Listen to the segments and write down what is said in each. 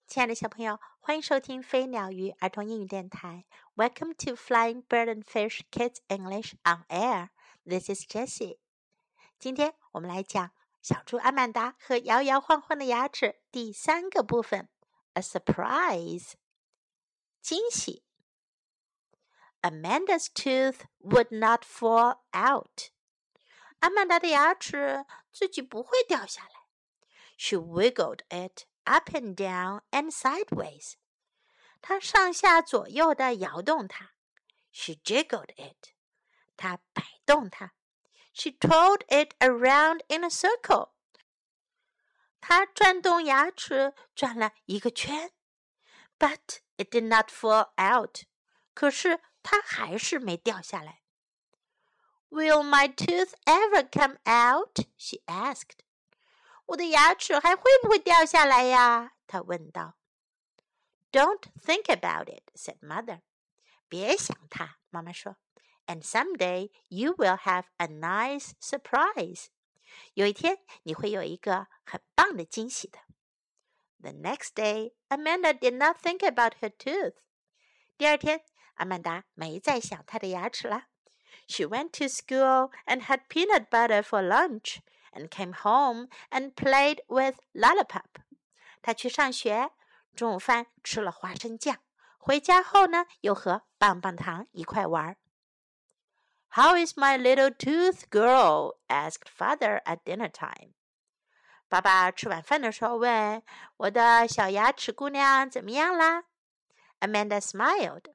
亲爱的小朋友，欢迎收听飞鸟鱼儿童英语电台。Welcome to Flying Bird and Fish Kids English on Air. This is Jessie. 今天我们来讲小猪阿曼达和摇摇晃晃的牙齿第3个部分 A surprise 惊喜。Amanda's tooth would not fall out. 阿曼达的牙齿自己不会掉下来。She wiggled it up and down and sideways. 她上下左右地摇动它。She jiggled it. 她摆动它。She twirled it around in a circle. 她转动牙齿转了一个圈。But it did not fall out. 可是它还是没掉下来。Will my tooth ever come out? She asked. 我的牙齿还会不会掉下来呀？她问道。Don't think about it, said Mother. 别想它，妈妈说。And someday you will have a nice surprise. 有一天你会有一个很棒的惊喜的。The next day, Amanda did not think about her tooth. 第二天，阿曼达没再想她的牙齿了。She went to school and had peanut butter for lunch.And came home and played with Lollipop. 他去上学，中午饭吃了花生酱，回家后呢，又和棒棒糖一块玩。How is my little tooth girl? Asked father at dinner time. 爸爸吃晚饭的时候问，我的小牙齿姑娘怎么样啦？ Amanda smiled.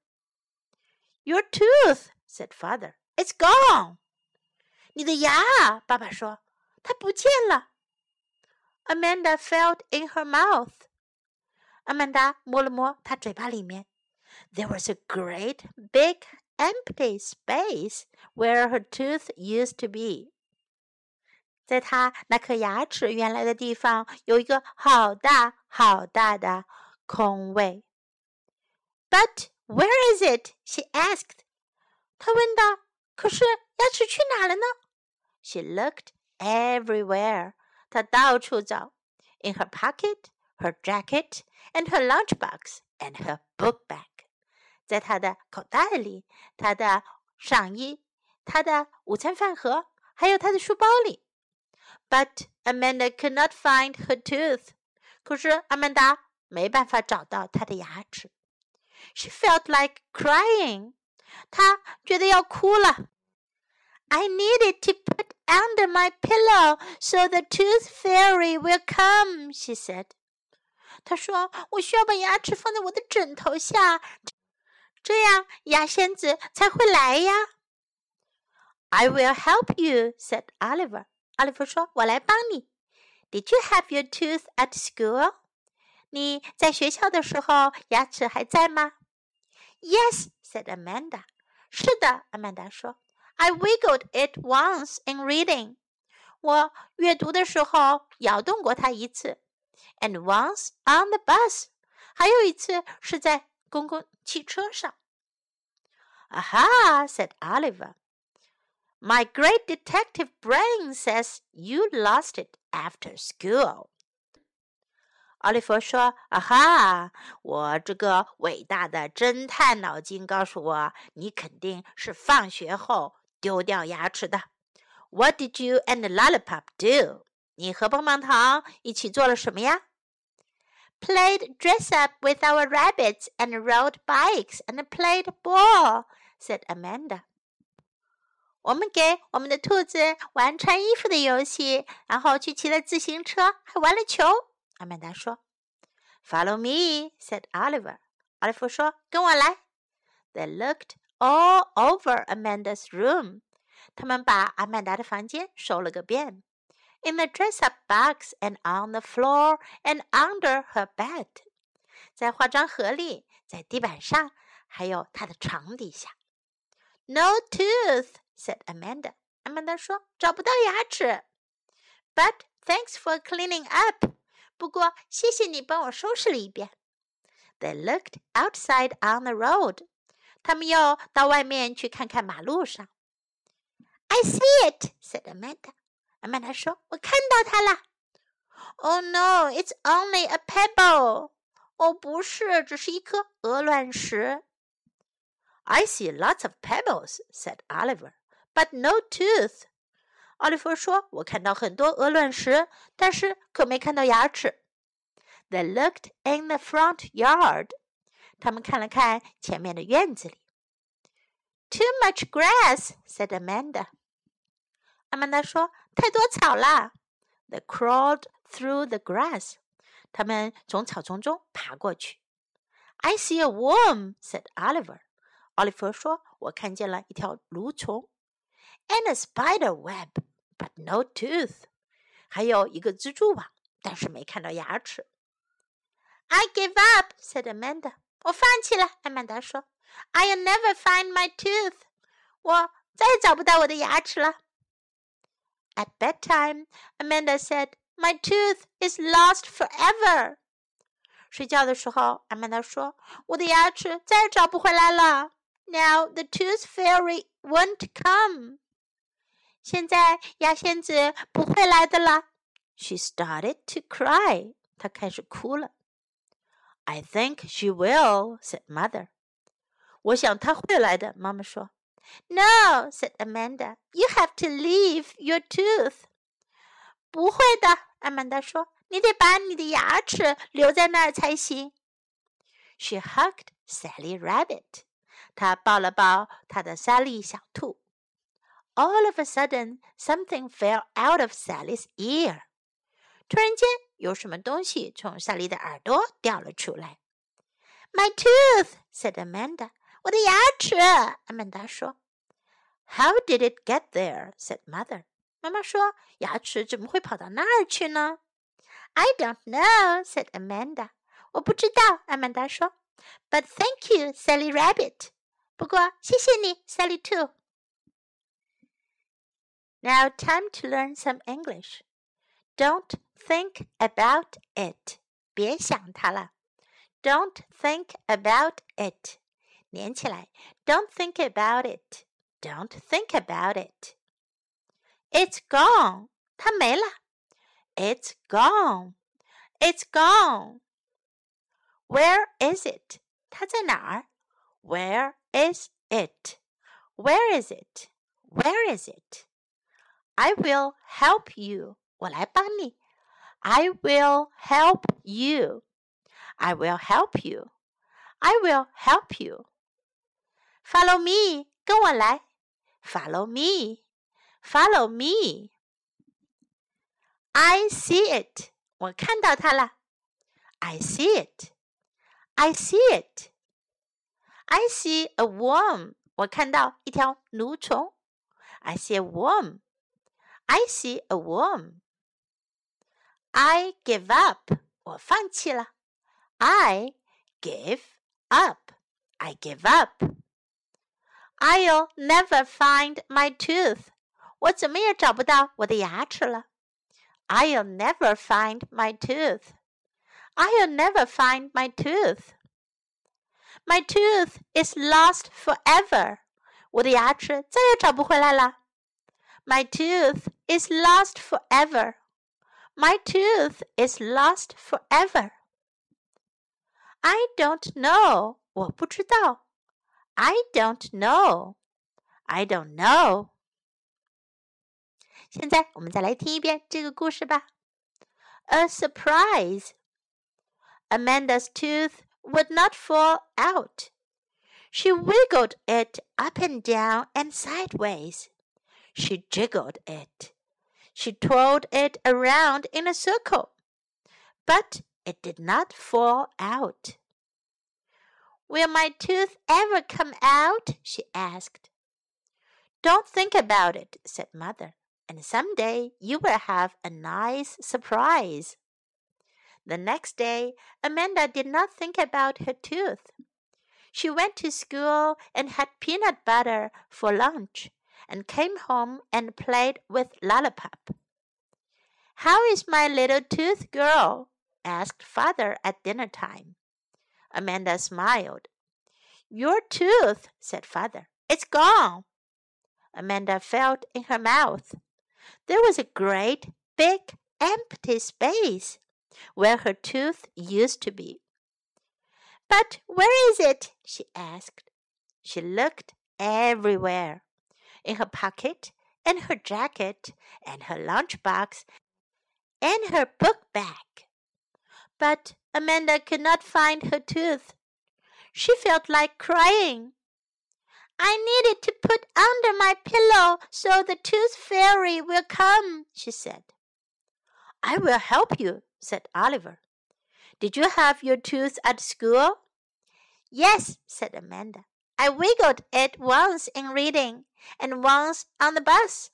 Your tooth, said father. It's gone. 你的牙，爸爸说。它不见了。Amanda felt in her mouth. 阿曼达摸了摸她嘴巴里面。There was a great big empty space where her tooth used to be. 在她那颗牙齿原来的地方，有一个好大好大的空位。But where is it? She asked. 她问道，可是牙齿去哪了呢？ She looked.Everywhere. 她到处找 In her pocket, her jacket, and her lunchbox, and her book bag. 在她的口袋里，她的上衣，她的午餐饭盒，还有她的书包里。But Amanda could not find her tooth. 可是阿曼达没办法找到她的牙齿。She felt like crying. 她觉得要哭了。I needed to put under my pillow so the tooth fairy will come, she said. 她说，我需要把牙齿放在我的枕头下，这样牙仙子才会来呀。I will help you, said Oliver. 奥利弗说，我来帮你。Did you have your tooth at school? 你在学校的时候，牙齿还在吗？ Yes, said Amanda. 是的，阿曼达说。I wiggled it once in reading. 我阅读的时候摇动过它一次。And once on the bus. 还有一次是在公共汽车上。Aha, said Oliver. My great detective brain says you lost it after school. 奥利弗说，啊哈，我这个伟大的侦探脑筋告诉我，你肯定是放学后丢掉牙齿的。What did you and Lollipop do? 你和棒棒糖一起做了什么呀？ Played dress up with our rabbits and rode bikes and played ball, said Amanda. 我们给我们的兔子玩穿衣服的游戏，然后去骑了自行车，还玩了球。阿曼达说。Follow me, said Oliver. 奥利弗说，跟我来。They looked all over Amanda's room. 他们把阿曼达的房间搜了个遍。In the dress-up box and on the floor and under her bed. 在化妆盒里，在地板上，还有她的床底下。No tooth, said Amanda. 阿曼达说，找不到牙齿。But thanks for cleaning up. 不过谢谢你帮我收拾了一遍。They looked outside on the road. 他们又到外面去看看马路上。I see it, said Amanda. 阿曼达说，我看到它了。Oh no, it's only a pebble. 哦，不是，只是一颗鹅卵石。I see lots of pebbles, said Oliver, but no tooth. 奥利弗说，我看到很多鹅卵石，但是可没看到牙齿。They looked in the front yard. 他们看了看前面的院子里。Too much grass, said Amanda. 阿曼达说，太多草了。They crawled through the grass. 他们从草丛中爬过去。I see a worm, said Oliver. 奥利弗说，我看见了一条蠕虫。And a spider web, but no tooth. 还有一个蜘蛛网，但是没看到牙齿。I give up, said Amanda. 我放弃了，阿曼达说。I'll never find my tooth. 我再也找不到我的牙齿了。At bedtime, Amanda said, My tooth is lost forever. 睡觉的时候，阿曼达说，我的牙齿再也找不回来了。Now the tooth fairy won't come. 现在牙仙子不会来的了。She started to cry. 她开始哭了。I think she will, said Mother. 我想她会来的，妈妈说。No, said Amanda. You have to leave your tooth. 不会的，阿曼达说，你得把你的牙齿留在那儿才行。She hugged Sally Rabbit. 她抱了抱她的莎莉小兔。All of a sudden, something fell out of Sally's ear. 突然间，有什么东西从莎莉的耳朵掉了出来。My tooth, said Amanda. 我的牙齿，阿曼达说。How did it get there? said Mother. 妈妈说，牙齿怎么会跑到那儿去呢？ I don't know, said Amanda. 我不知道，阿曼达说。But thank you, Sally Rabbit. 不过，谢谢你，Sally 兔。Now time to learn some English. Don't think about it. 别想它了。Don't think about it. 连起来。Don't think about it. Don't think about it. It's gone. 它没了。It's gone. It's gone. Where is it? 它在哪儿？ Where is it? Where is it? Where is it? I will help you. 我来帮你。I will help you. I will help you. I will help you. Follow me. 跟我来。Follow me. Follow me. I see it. 我看到它了。I see it. I see it. I see a worm. 我看到一条蠕虫。I see a worm. I see a worm. I give up. 我放弃了。I give up. I give up. I'll never find my tooth. 我怎么也找不到我的牙齿了。I'll never find my tooth. I'll never find my tooth. My tooth is lost forever. 我的牙齿再也找不回来了。My tooth is lost forever. My tooth is lost forever. I don't know. 我不知道。I don't know. I don't know. 现在我们再来听一遍这个故事吧。A surprise. Amanda's tooth would not fall out. She wiggled it up and down and sideways. She jiggled it. She twirled it around in a circle. But it did not fall out. Will my tooth ever come out? She asked. Don't think about it, said Mother, and someday you will have a nice surprise. The next day, Amanda did not think about her tooth. She went to school and had peanut butter for lunch, and came home and played with Lollipop. How is my little tooth girl? Asked Father at dinner time. Amanda smiled. Your tooth, said Father. It's gone. Amanda felt in her mouth. There was a great, big, empty space where her tooth used to be. But where is it? She asked. She looked everywhere. In her pocket, and her jacket, and her lunchbox, and her book bag. But Amanda could not find her tooth. She felt like crying. I need it to put under my pillow so the tooth fairy will come, she said. I will help you, said Oliver. Did you have your tooth at school? Yes, said Amanda. I wiggled it once in reading, and once on the bus.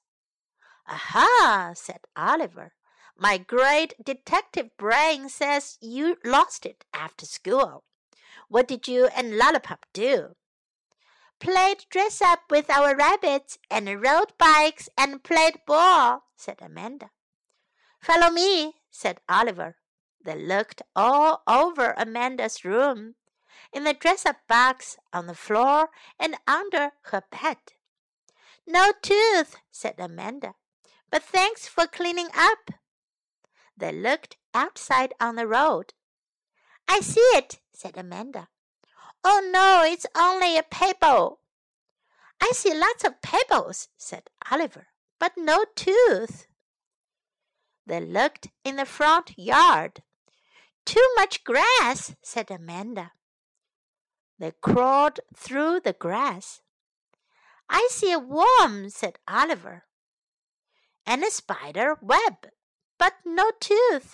Aha, said Oliver. My great detective brain says you lost it after school. What did you and Lollipop do? Played dress-up with our rabbits and rode bikes and played ball, said Amanda. Follow me, said Oliver. They looked all over Amanda's room, in the dress-up box, on the floor, and under her bed. No tooth, said Amanda, but thanks for cleaning up. They looked outside on the road. I see it, said Amanda. Oh no, it's only a pebble. I see lots of pebbles, said Oliver, but no tooth. They looked in the front yard. Too much grass, said Amanda. They crawled through the grass. I see a worm, said Oliver, and a spider web, but no tooth.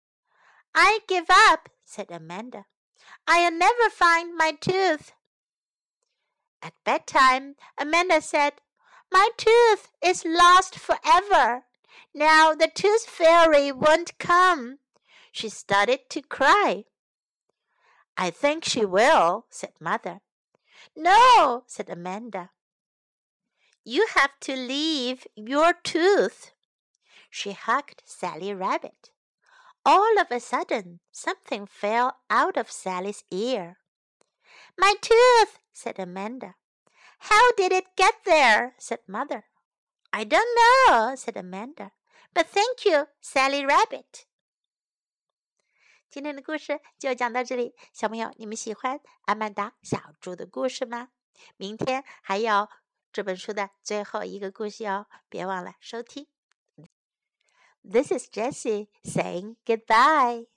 I give up, said Amanda. I'll never find my tooth. At bedtime, Amanda said, My tooth is lost forever. Now the tooth fairy won't come. She started to cry. I think she will, said Mother. No, said Amanda. You have to leave your tooth. She hugged Sally Rabbit. All of a sudden, something fell out of Sally's ear. My tooth, said Amanda. How did it get there? said Mother. I don't know, said Amanda. But thank you, Sally Rabbit. 今天的故事就讲到这里，小朋友，你们喜欢阿曼达小猪的故事吗？明天还有这本书的最后一个故事哦，别忘了收听。This is Jessie saying goodbye.